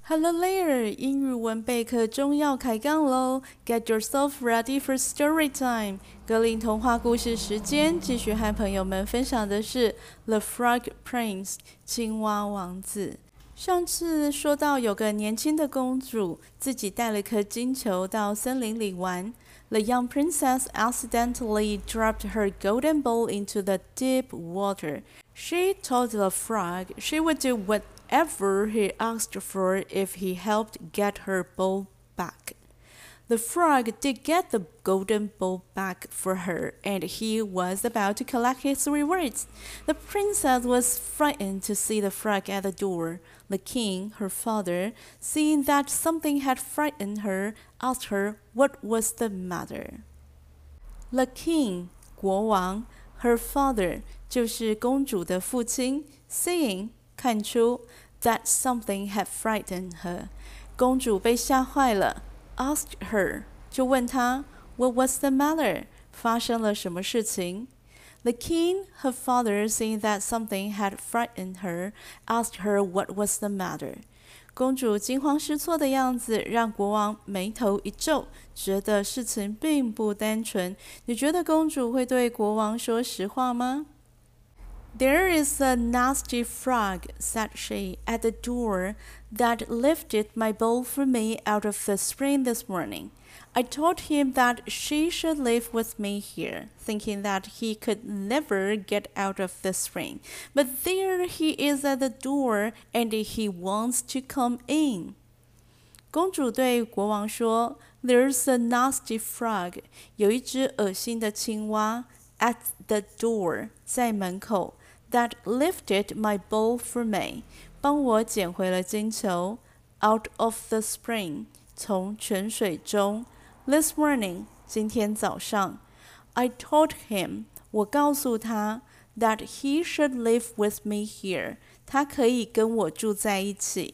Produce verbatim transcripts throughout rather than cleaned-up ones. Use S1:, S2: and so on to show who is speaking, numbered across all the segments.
S1: Hello there， 英語文備課中要開槓嘍 ！Get yourself ready for story time。格林童話故事時間，繼續和朋友們分享的是《The Frog Prince》青蛙王子。上次說到有個年輕的公主，自己帶了顆金球到森林裡玩。The young princess accidentally dropped her golden ball into the deep water. She told the frog she would do whatever he asked for if he helped get her ball back. The frog did get the golden ball back for her, and he was about to collect his rewards. The princess was frightened to see the frog at the door. The king, her father, seeing that something had frightened her, asked her what was the matter. The king, 國王 her father, 就是公主的父親 seeing, 看出 that something had frightened her. 公主被嚇壞了asked her 就問她 What was the matter? 發生了什麼事情 The king, her father, seeing that something had frightened her, asked her what was the matter. 公主驚慌失措的樣子讓國王眉頭一皺，覺得事情並不單純。你覺得公主會對國王說實話嗎？There is a nasty frog, said she, at the door, that lifted my bowl for me out of the spring this morning. I told him that she should live with me here, thinking that he could never get out of the spring. But there he is at the door, and he wants to come in. 公主對國王說 There's a nasty frog, 有一隻噁心的青蛙 at the door, 在門口That lifted my bowl for me, 幫我撿回了金球 out of the spring, 從泉水中 This morning, 今天早上 I told him, 我告訴他 that he should live with me here, 他可以跟我住在一起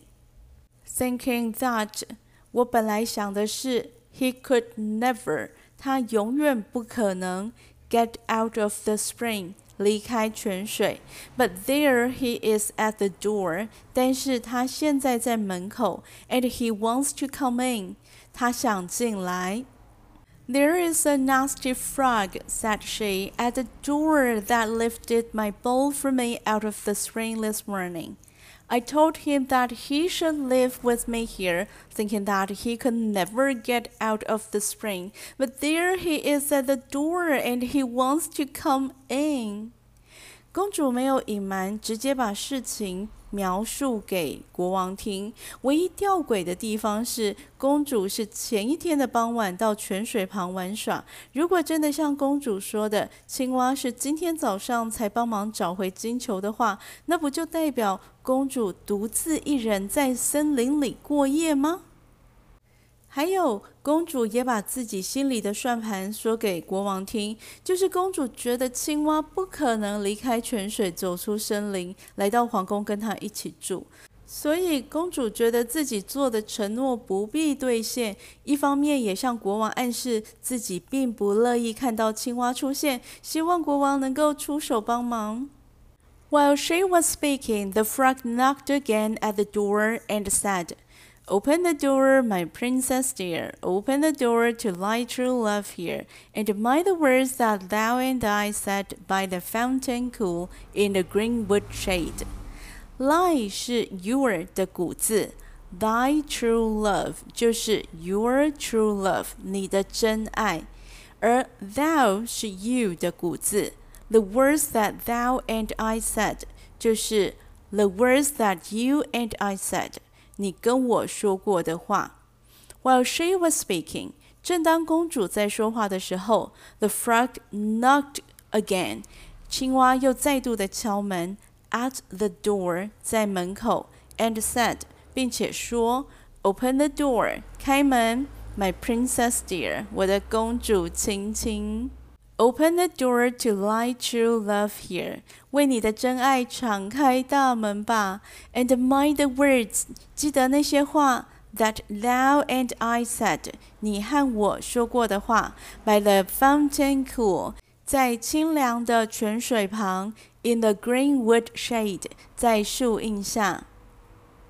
S1: Thinking that, 我本來想的是 he could never, 他永遠不可能 get out of the spring,離開泉水 But there he is at the door 但是他現在在門口 And he wants to come in 他想進來 There is a nasty frog, said she, at the door that lifted my bowl for me out of the spring this morning. I told him that he should live with me here, thinking that he could never get out of the spring. But there he is at the door, and he wants to come in. 公主沒有隱瞞，直接把事情描述給國王聽。唯一吊詭的地方是，公主是前一天的傍晚到泉水旁玩耍。如果真的像公主說的，青蛙是今天早上才幫忙找回金球的話，那不就代表公主獨自一人在森林裡過夜嗎？還有，公主也把自己心裡的算盤說給國王聽，就是公主覺得青蛙不可能離開泉水走出森林，來到皇宮跟她一起住。所以公主覺得自己做的承諾不必兌現，一方面也向國王暗示自己並不樂意看到青蛙出現，希望國王能夠出手幫忙。While she was speaking, the frog knocked again at the door and said,Open the door, my princess dear, open the door to lie true love here, and mind the words that thou and I said by the fountain cool in the greenwood shade. Lie 是 your 的古字 thy true love 就是 your true love 你的真愛，而 thou 是 you 的古字 the words that thou and I said 就是 the words that you and I said你跟我說過的話 While she was speaking, 正當公主在說話的時候 The frog knocked again 青蛙又再度的敲門 At the door 在門口 And said 並且說 Open the door 開門 My princess dear 我的公主親親Open the door to lie true love here. 為你的真愛敞開大門吧。And mind the words. 記得那些話 that thou and I said. 你和我說過的話。By the fountain cool. 在清涼的泉水旁。In the greenwood shade. 在樹蔭下。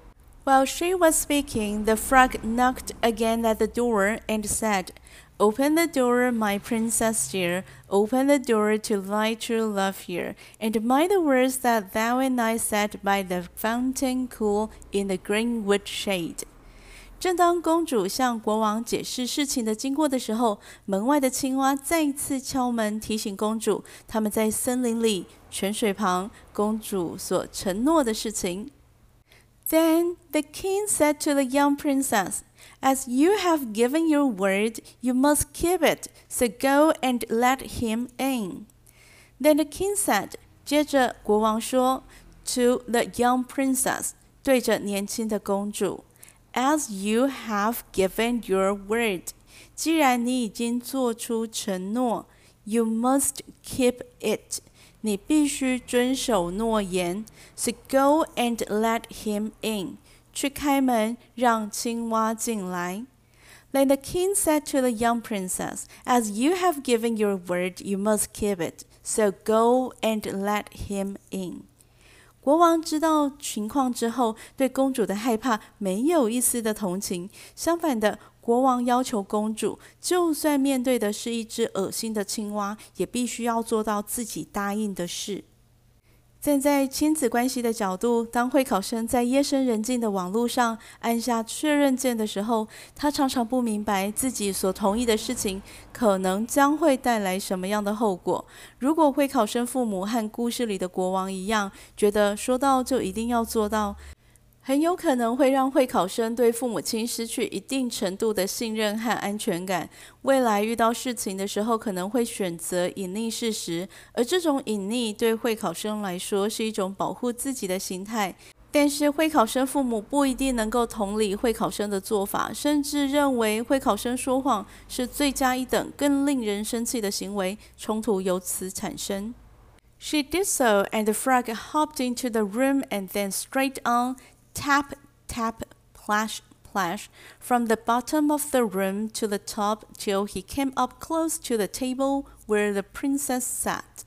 S1: While she was speaking, the frog knocked again at the door and said, "Open the door, my princess dear, open the door to thy true love here, and mind the words that thou and I sat by the fountain cool in the greenwood shade." 正当公主向國王解釋事情的經過的時候，門外的青蛙再次敲門，提醒公主他們在森林裡、泉水旁，公主所承諾的事情。Then the king said to the young princess, "As you have given your word, you must keep it, so go and let him in." Then the king said, 接着國王說 to the young princess, 對着年輕的公主 As you have given your word, 既然你已經做出承諾 You must keep it, 你必須遵守諾言 So go and let him in, 去開門讓青蛙進來 Then the king said to the young princess, As you have given your word, you must keep it, so go and let him in. 國王知道情況之後，對公主的害怕沒有一絲的同情，相反的，國王要求公主，就算面對的是一隻噁心的青蛙，也必須要做到自己答應的事。站在親子關係的角度，當會考生在夜深人靜的網絡上按下確認鍵的時候，他常常不明白自己所同意的事情可能將會帶來什麼樣的後果。如果會考生父母和故事裡的國王一樣，覺得說到就一定要做到，很有可能會讓會考生對父母親失去一定程度的信任和安全感。未來遇到事情的時候，可能會選擇隱匿事實，而這種隱匿對會考生來說是一種保護自己的心態。但是會考生父母不一定能夠同理會考生的做法，甚至認為會考生說謊是罪加一等、更令人生氣的行為，衝突由此產生。She did so, and the frog hopped into the room and then straight on Tap, tap, plash, plash, from the bottom of the room to the top till he came up close to the table where the princess sat.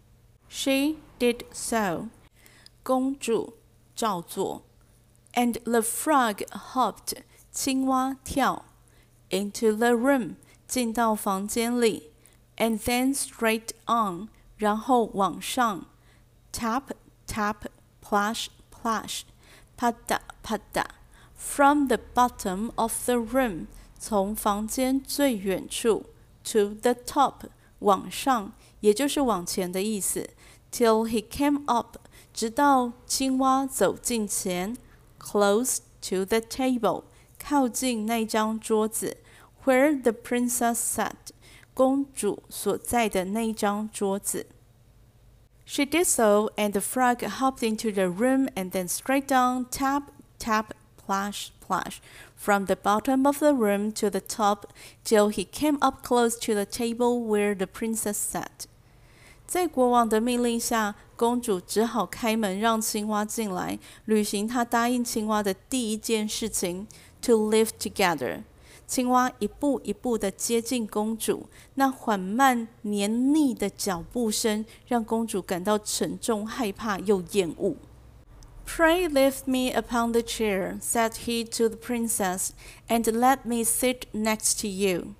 S1: She did so. 公主照做 And the frog hopped, 青蛙跳 into the room, 進到房間裡 and then straight on, 然後往上 Tap, tap, plash, plash.啪嗒啪嗒 From the bottom of the room 從房間最遠處 To the top 往上也就是往前的意思 Till he came up 直到青蛙走近前 Close to the table 靠近那張桌子 Where the princess sat 公主所在的那張桌子She did so, and the frog hopped into the room and then straight down, tap, tap, plash, plash, from the bottom of the room to the top, till he came up close to the table where the princess sat. 在國王的命令下，公主只好開門讓青蛙進來，履行她答應青蛙的第一件事情 ，to live together. 青蛙一步一步地接近公主，那緩慢黏膩的腳步聲讓公主感到沉重、害怕又厭惡。Pray lift me upon the chair, said he to the princess, and let me sit next to you.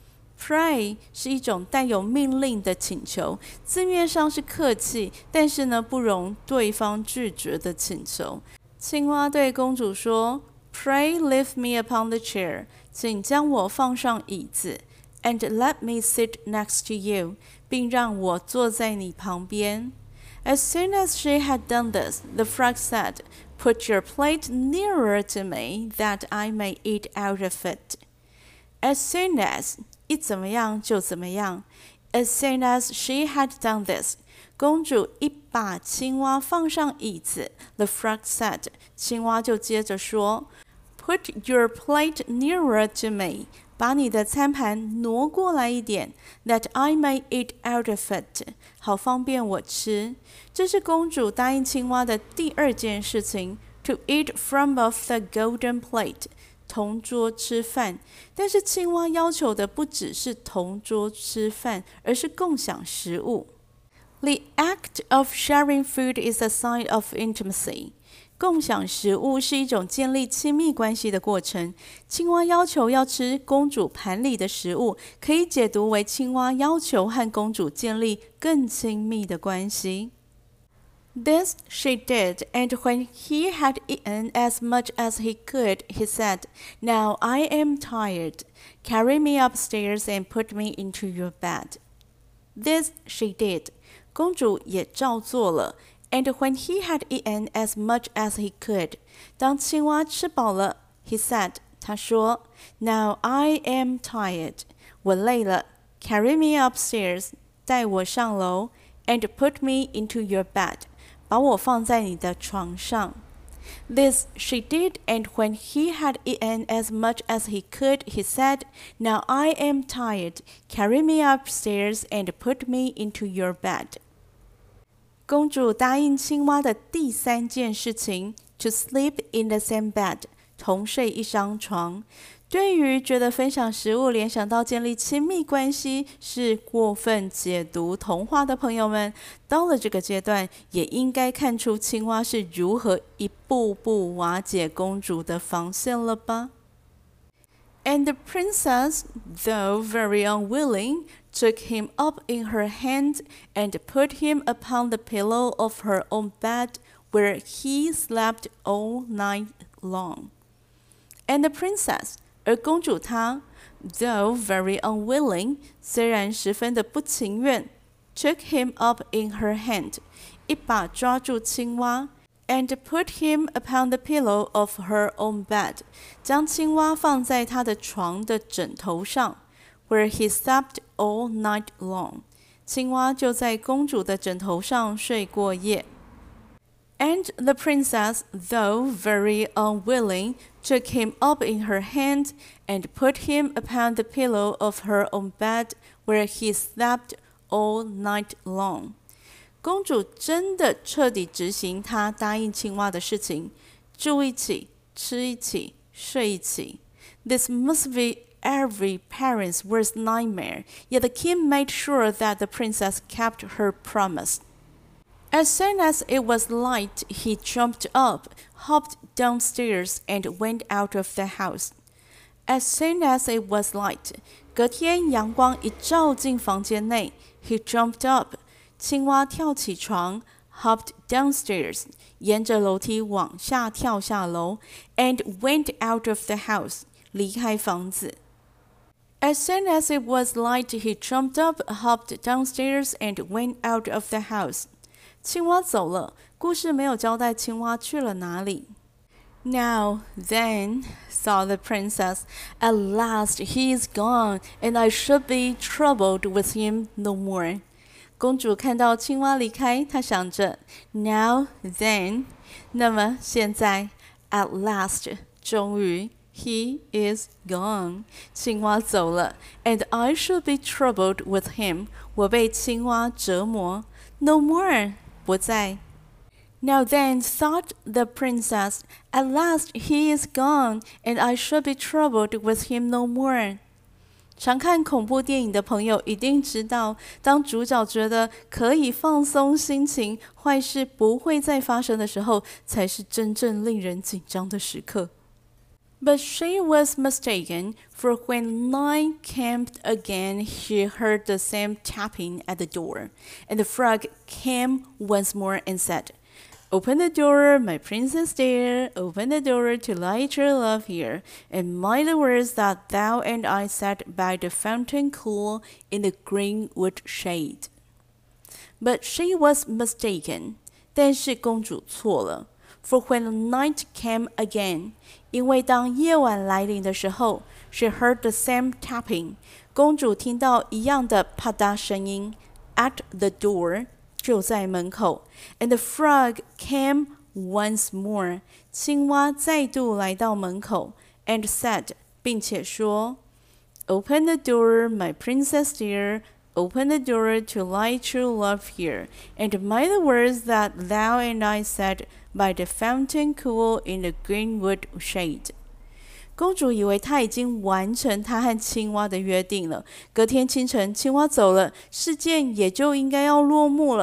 S1: Pray 是一種帶有命令的請求，字面上是客氣，但是呢不容對方拒絕的請求。青蛙對公主說 Pray lift me upon the chair. 請將我放上椅子 and let me sit next to you, 並讓我坐在你旁邊。As soon as she had done this, the frog said, Put your plate nearer to me, that I may eat out of it. As soon as, 一怎麼樣就怎麼樣。As soon as she had done this, 公主一把青蛙放上椅子 The frog said, 青蛙就接着說Put your plate nearer to me. 把你的餐盤挪過來一點 ，that I may eat out of it. 好方便我吃。這是公主答應青蛙的第二件事情 ，to eat from off the golden plate. 同桌吃飯。但是青蛙要求的不只是同桌吃飯，而是共享食物。The act of sharing food is a sign of intimacy. 共享食物是一種建立親密關係的過程。青蛙要求要吃公主盤裡的食物，可以解讀為青蛙要求和公主建立更親密的關係。This she did, and when he had eaten as much as he could, he said, "Now I am tired. Carry me upstairs and put me into your bed." This she did. 公主也照做了。And when he had eaten as much as he could, 當青蛙吃飽了 he said, 他說 Now I am tired. 我累了 Carry me upstairs. 帶我上樓 And put me into your bed. 把我放在你的床上 This she did, and when he had eaten as much as he could, he said, Now I am tired. Carry me upstairs and put me into your bed. 公主答應青蛙的第三件事情 to sleep in the same bed, 同睡一張床。對於覺得分享食物聯想到建立親密關係是過分解讀童話的朋友們，到了這個階段，也應該看出青蛙是如何一步步瓦解公主的防線了吧？ And the princess, though very unwilling, took him up in her hand and put him upon the pillow of her own bed, where he slept all night long. And the princess, 而公主她 though very unwilling, 雖然十分的不情願 took him up in her hand, 一把抓住青蛙 and put him upon the pillow of her own bed, 將青蛙放在她的床的枕頭上 where he slept all night long. 青蛙就在公主的枕頭上睡過夜。And the princess, though very unwilling, took him up in her hand and put him upon the pillow of her own bed, where he slept all night long. 公主真的徹底執行她答應青蛙的事情，住一起，吃一起，睡一起。This must be every parent's worst nightmare, yet the king made sure that the princess kept her promise. As soon as it was light, he jumped up, hopped downstairs, and went out of the house. As soon as it was light, 隔天陽光一照進房間內 he jumped up, 青蛙跳起床 hopped downstairs, 沿着樓梯往下跳下樓 and went out of the house, 離開房子。As soon as it was light, he jumped up, hopped downstairs, and went out of the house. 青蛙走了，故事沒有交代青蛙去了哪裡。Now, then, thought the princess, at last he is gone, and I should be troubled with him no more. 公主看到青蛙離開，她想着 Now, then, 那麼現在 at last, 終於 he is gone. 青蛙走了 and I should be troubled with him. 我被青蛙折磨 no more. 不再。Now then, thought the princess, at last he is gone, and I should be troubled with him no more. 常看恐怖電影的朋友一定知道，當主角覺得可以放鬆心情，壞事不會再發生的時候，才是真正令人緊張的時刻。But she was mistaken, for when night came again, she heard the same tapping at the door. And the frog came once more and said, Open the door, my princess dear, open the door to light your love here, and mind the words that thou and I sat by the fountain cool in the greenwood shade. But she was mistaken, 但是公主錯了。For when night came again, 因為當夜晚來臨的時候 she heard the same tapping, 公主聽到一樣的啪嗒聲音 at the door, 就在門口 and the frog came once more, 青蛙再度來到門口 and said, 並且說 Open the door, my princess dear, open the door to light your love here, and mind the words that thou and I said by the fountain cool in the greenwood shade. 公主以為她已經完成她和青蛙的約定了。隔天清晨，青蛙走了，事件也就應該要落幕了。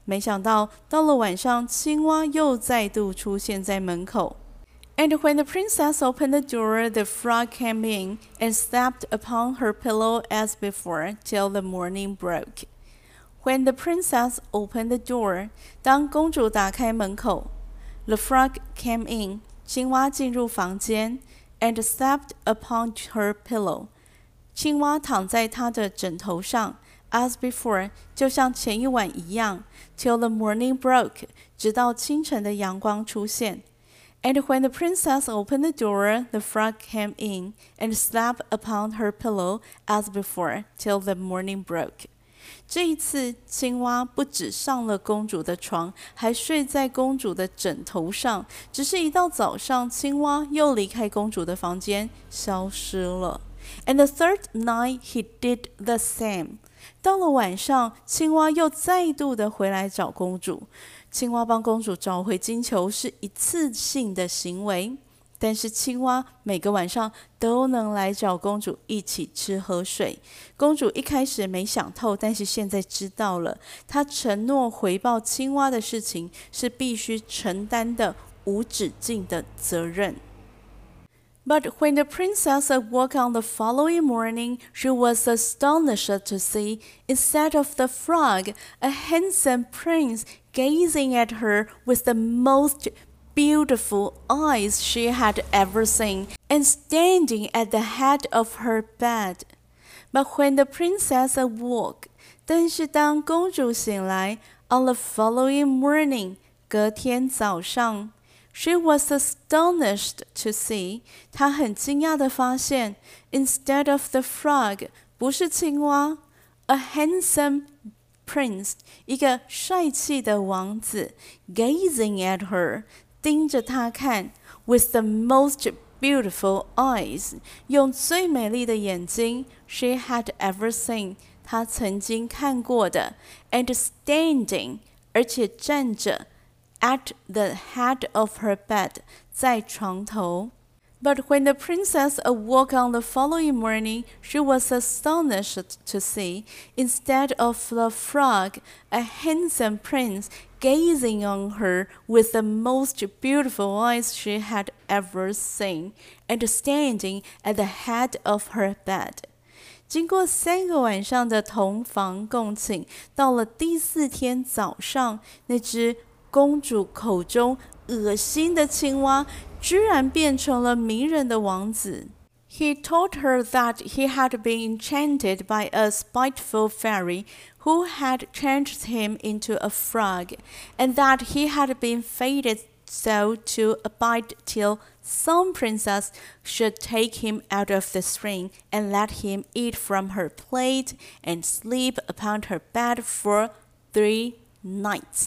S1: 沒想到到了晚上，青蛙又再度出現在門口。And when the princess opened the door, the frog came in and slept upon her pillow as before till the morning broke. When the princess opened the door, 當公主打開門口 the frog came in, 青蛙進入房間 and slept upon her pillow. 青蛙躺在她的枕頭上 as before, 就像前一晚一樣 till the morning broke, 直到清晨的陽光出現。And when the princess opened the door, the frog came in and slept upon her pillow as before till the morning broke. 這一次，青蛙不只上了公主的床，還睡在公主的枕頭上。只是一到早上，青蛙又離開公主的房間，消失了。And the third night he did the same. 到了晚上，青蛙又再度的回來找公主。青蛙幫公主找回金球是一次性的行為，但是青蛙每個晚上都能來找公主一起吃喝睡。公主一開始沒想透，但是現在知道了，她承諾回報青蛙的事情是必須承擔的無止境的責任。But when the princess awoke on the following morning, she was astonished to see, instead of the frog, a handsome prince gazing at her with the most beautiful eyes she had ever seen, and standing at the head of her bed. But when the princess awoke, 但是當公主醒來 on the following morning, 隔天早上She was astonished to see, 她很驚訝地發現 instead of the frog, 不是青蛙 a handsome prince, 一個帥氣的王子 gazing at her, 盯着她看 with the most beautiful eyes, 用最美麗的眼睛 she had ever seen, 她曾經看過的 and standing, 而且站着at the head of her bed, 在床頭。But when the princess awoke on the following morning, she was astonished to see, instead of the frog, a handsome prince gazing on her with the most beautiful eyes she had ever seen, and standing at the head of her bed. 經過三個晚上的同房共寢，到了第四天早上，那隻公主口中惡心的青蛙居然變成了迷人的王子。He told her that he had been enchanted by a spiteful fairy who had changed him into a frog, and that he had been fated so to abide till some princess should take him out of the spring and let him eat from her plate and sleep upon her bed for three nights.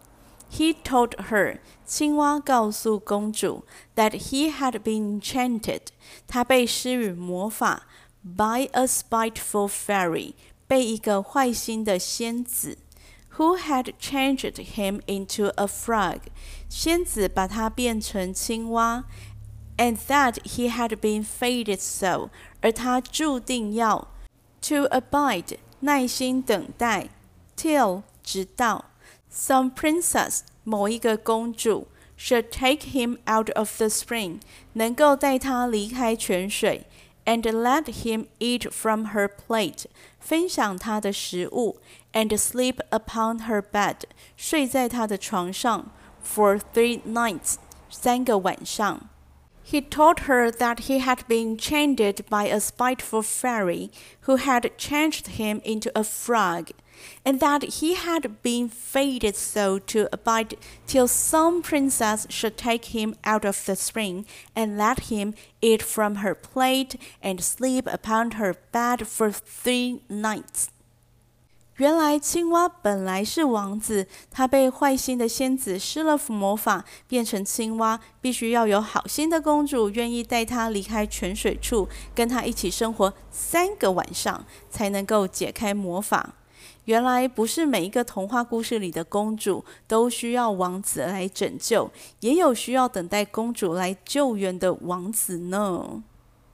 S1: He told her, 青蛙告訴公主 that he had been enchanted, 他被施予魔法 by a spiteful fairy, 被一個壞心的仙子 who had changed him into a frog, 仙子把他變成青蛙 and that he had been fated so, 而他注定要 to abide, 耐心等待 till, 直到Some princess, 某一個公主 should take him out of the spring, 能夠帶他離開泉水 and let him eat from her plate, 分享他的食物 and sleep upon her bed, 睡在他的床上 for three nights, 三個晚上。He told her that he had been enchanted by a spiteful fairy who had changed him into a frog, and that he had been fated so to abide till some princess should take him out of the spring and let him eat from her plate and sleep upon her bed for three nights. 原來青蛙本來是王子，他被壞心的仙子施了魔法，變成青蛙，必須要有好心的公主願意帶他離開泉水處，跟他一起生活三個晚上，才能夠解開魔法。原來不是每一個童話故事裡的公主都需要王子來拯救，也有需要等待公主來救援的王子呢。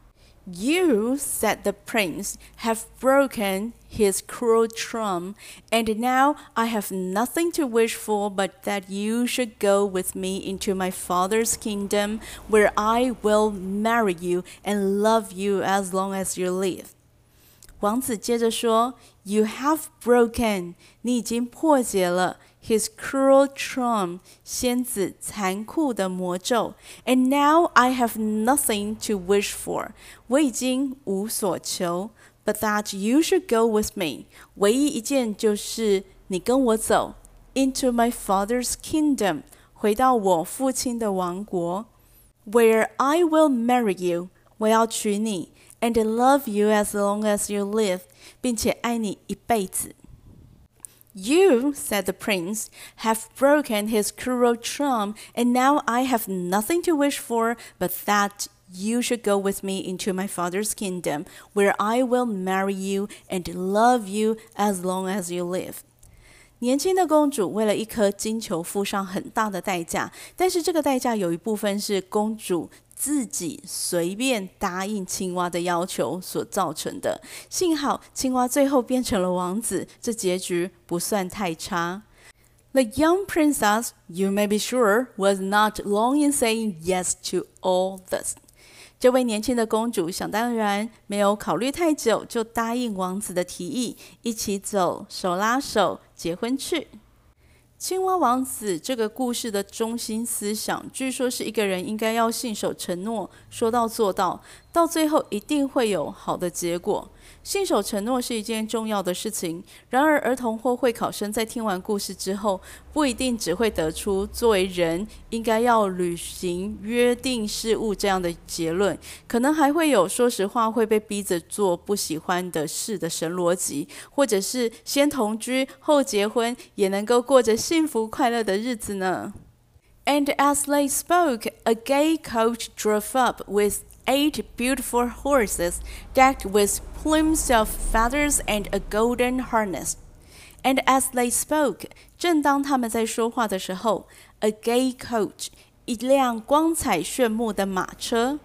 S1: You, said the prince, have broken his cruel charm, and now I have nothing to wish for but that you should go with me into my father's kingdom, where I will marry you and love you as long as you live. 王子接着说 You have broken 你已经破解了 His cruel charm 仙子残酷的魔咒 And now I have nothing to wish for 我已經無所求 But that you should go with me 唯一一件就是你跟我走 Into my father's kingdom 回到我父親的王國 Where I will marry you 我要娶你And love you as long as you live, 並且愛你一輩子。You, said the prince, have broken his cruel charm, and now I have nothing to wish for but that you should go with me into my father's kingdom, where I will marry you and love you as long as you live. 年輕的公主為了一顆金球付上很大的代價，但是這個代價有一部分是公主自己隨便答應青蛙的要求所造成的。幸好青蛙最後變成了王子，這結局不算太差。The young princess, you may be sure, was not long in saying yes to all this. 這位年輕的公主想當然沒有考慮太久，就答應王子的提議，一起走，手拉手，結婚去。青蛙王子這個故事的中心思想，據說是一個人應該要信守承諾，說到做到，到最後一定會有好的結果。信守承諾是一件重要的事情，然而兒童或會考生在聽完故事之後，不一定只會得出作為人應該要履行約定事務這樣的結論，可能還會有說實話會被逼着做不喜歡的事的神邏輯，或者是先同居後結婚也能夠過着幸福快樂的日子呢。And as they spoke, a gay coach drove up with eight beautiful horses decked with plumes of feathers and a golden harness. And as they spoke, 正當他們在說話的時候 a gay coach, 一輛光彩炫目的馬車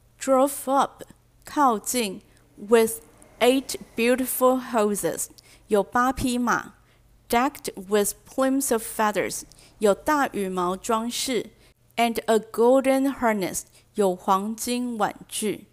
S1: drove up, 靠近 with eight beautiful horses, 有八匹馬 decked with plumes of feathers, 有大羽毛裝飾 and a golden harness, 有黃金碗具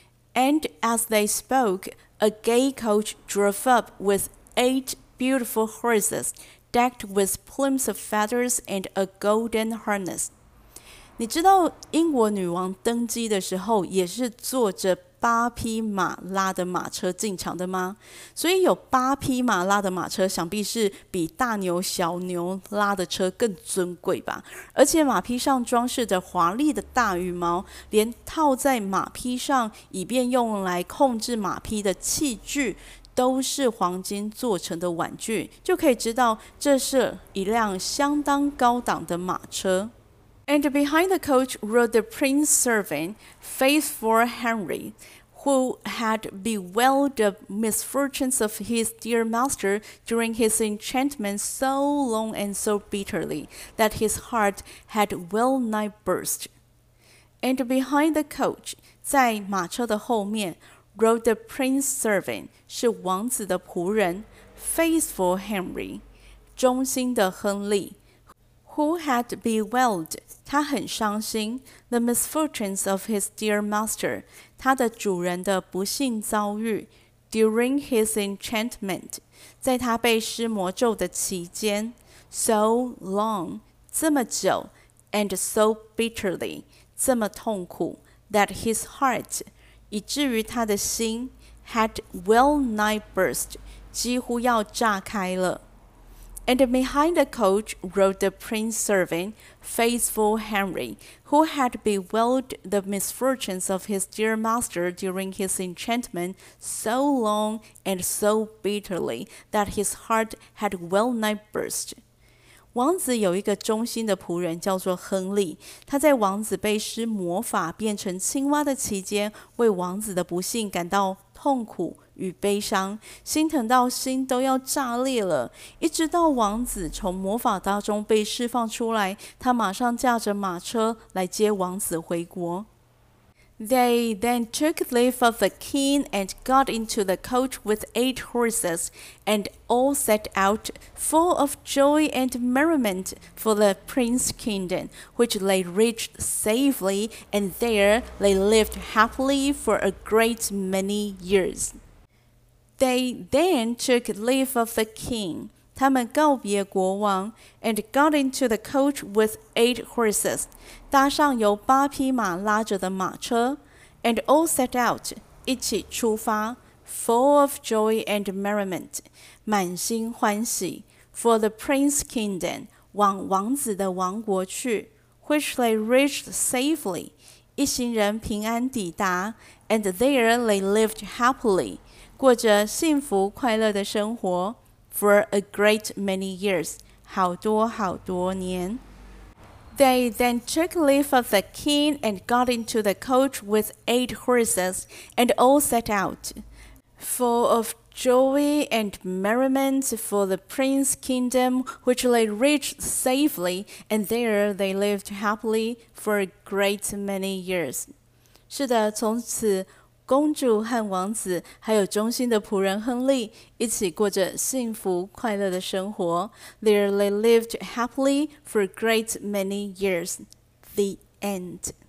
S1: And as they spoke, a gay coach drove up with eight beautiful horses, decked with plumes of feathers and a golden harness. 你知道英國女王登基的時候也是坐着八匹馬拉的馬車進場的嗎？所以有八匹馬拉的馬車，想必是比大牛小牛拉的車更尊貴吧。而且馬匹上裝飾着華麗的大羽毛，連套在馬匹上以便用來控制馬匹的器具都是黃金做成的碗具，就可以知道這是一輛相當高檔的馬車。And behind the coach rode the prince's servant, faithful Henry, who had bewailed the misfortunes of his dear master during his enchantment so long and so bitterly that his heart had well nigh burst. And behind the coach, 在馬車的後面 rode the prince's servant, 是王子的僕人 faithful Henry, 忠心的亨利who had bewailed, 他很傷心 the misfortunes of his dear master, 他的主人的不幸遭遇 during his enchantment, 在他被施魔咒的期間 so long, 這麼久 and so bitterly, 這麼痛苦 that his heart, 以至於他的心 had well nigh burst, 幾乎要炸開了。And behind the coach rode the prince's servant, faithful Henry, who had bewailed the misfortunes of his dear master during his enchantment so long and so bitterly that his heart had well nigh burst. 王子有一個忠心的僕人叫做亨利，他在王子被施魔法變成青蛙的期間，為王子的不幸感到痛苦與悲傷，心疼到心都要炸裂了。一直到王子從魔法當中被釋放出來，他馬上駕着馬車來接王子回國。 They then took leave of the king and got into the coach with eight horses, and all set out, full of joy and merriment, for the prince's kingdom, which they reached safely, and there they lived happily for a great many years. They then took leave of the king. 他们告別國王 and got into the coach with eight horses. 搭上由八匹馬拉着的馬車 and all set out. 一起出發 full of joy and merriment. 滿心歡喜 for the prince's kingdom. 往王子的王國去 which they reached safely. 一行人平安抵達 and there they lived happily. 過着幸福快樂的生活For a great many years, 好多好多年。They then took leave of the king and got into the coach with eight horses, and all set out, full of joy and merriment for the prince's kingdom, which they reached safely, and there they lived happily for a great many years. 是的，从此公主和王子，还有忠心的仆人亨利，一起过着幸福快樂的生活。There they lived happily for a great many years. The end.